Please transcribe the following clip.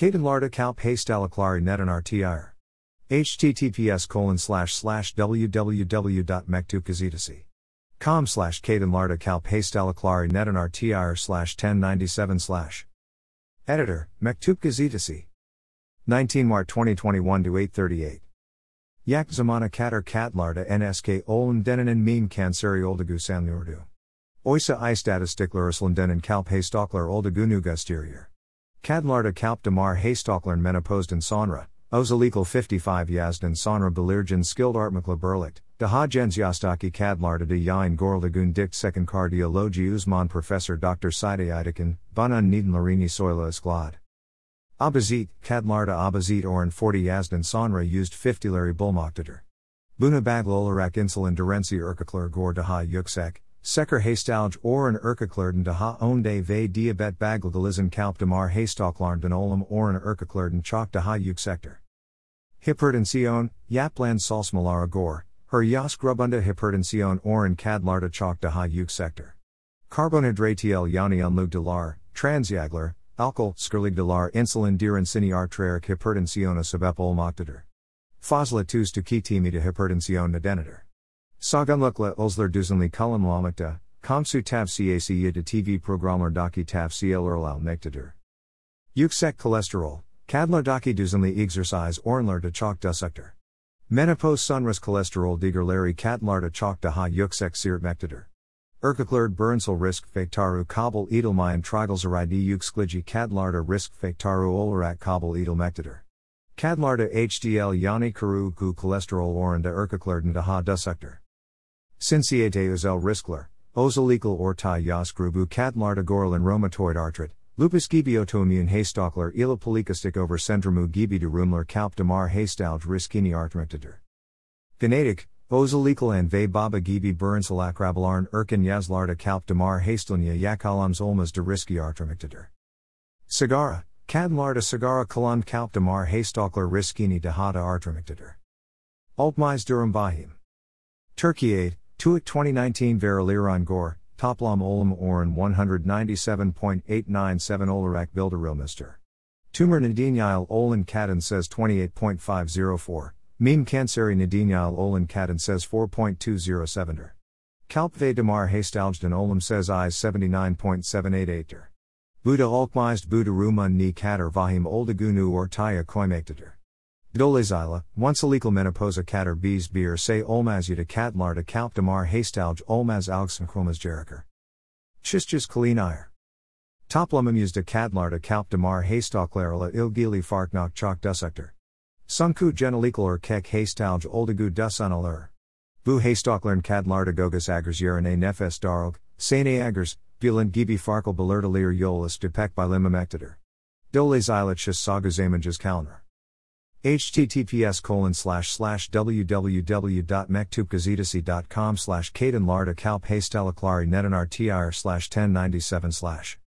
Caden larda calp haystalaclari netan rtir. https://www.mektubgazetasi.com /Caden larda calp haystalaclari netan rtir /1097 / Editor, Mektub Gazetasi. 19 Mart 2021 to 8:38. Yak zamana katar katlarda nsk olun denen meme kanseri oldagu sanlurdu. Oysa istatistikler denen kalp haystaklar oldagu gusterior. Kadlarda kalp damar haystaklern menopausen sonra, illegal 55 yazden sonra belirgen skilled artmakla berlicht, daha jensjastaki kadlarda de yain gorlagun dikt second cardiologi uzman Professor Dr. Saide Idikin, bunun neden larini soyla isklad. Abazit, kadlarda abazit oran 40 yazden sonra used 50'leri bulmaktadır. Buna bagl olarak insulin dirensi erkekler gor daha yüksek, seker haystalj oran erkeklerden daha önde ve diyabet baglagalizin kalp damar haystaklardan olam oran erkeklerden çok daha yüksektir. Hipertensiyon, yaplan salsmalara gor, her yas grubunda hipertensiyon oran kadlarda çok daha yüksektir. Karbonhidratiel yani unlugdalar, transyaglar, alkol, skirligdalar insulin dirensini arteriak hipertensiyona sebep olmaktadır. Fazla tuz tüketimide hipertensiyon nedendir. Sagunlukla uzlar düzenli kullanılmakta, komsu tavsiyesi de TV programlardaki tavsiyeler almaktadır. Yüksek kolesterol, kadlardaki düzenli egzersiz oranlarda çok düşüktür. Menopause sonrası kolesterol değerleri kadlarda çok daha yüksek seyretmektedir. Erkeklerde bürünsel risk faktoru kabul edilmeyen triglyceride yüksekliği kadlarda risk faktoru olarak kabul edilmektedir. Kadlarda HDL yani kuru kolesterol oranda erkeklerden daha düşüktür. Cinsiyete özel riskler, özellikle orta yaş grubu kadlarda gorillin rheumatoid artrit, lupus gibi autoimmune haystaklar ile polikistik over sendromu gibi durumlar kalp damar haystalj riskini artmaktadır. Genetik, özellikle ve baba gibi bürünsel akrabaların erken yazlarda kalp damar haystalnya yakalams olmaz de riski artmaktadır. Sigara, kadlarda sigara kullanıp kalp damar haystaklar riskini daha da artmaktadır. Altmaz durum bahim. Türkiye, TÜİK 2019 Verilerin Gor, Toplam Olam Oran 197.897 olarak bildirilmiştir. Tumor nedeniyle olan kadın says 28.504, meme kanseri nedeniyle olan kadın says 4.207'dir. Kalp ve damar haystaljdan olam says is 79.788'dir. Buda alkmized Buda rumun ni kadar vahim oldagunu ortaya koymaktadır. Dolayısıyla, oncelikle menopausa kadar biz bir say olmazyada kadlarda kalp damar haystalj olmaz algsynchromaz gerekir. Çizgiz kalinayır. Toplamımızda kadlarda kalp damar haystaklarla ilgili farknak çok düşüktür. Sunku genellikle erkek haystalj oldagu düşünülür. Bu haystakların kadlarda gogas agers yerine nefes daralg, sane agers, bilen gibi farklı belirtiler yollas depek bilinmemektedir. Dolayısıyla çiz saguzamınız kalınır. https://www.mektubgazetasi.com /Caden larda kalp haystalaclari netan rtir /1097 /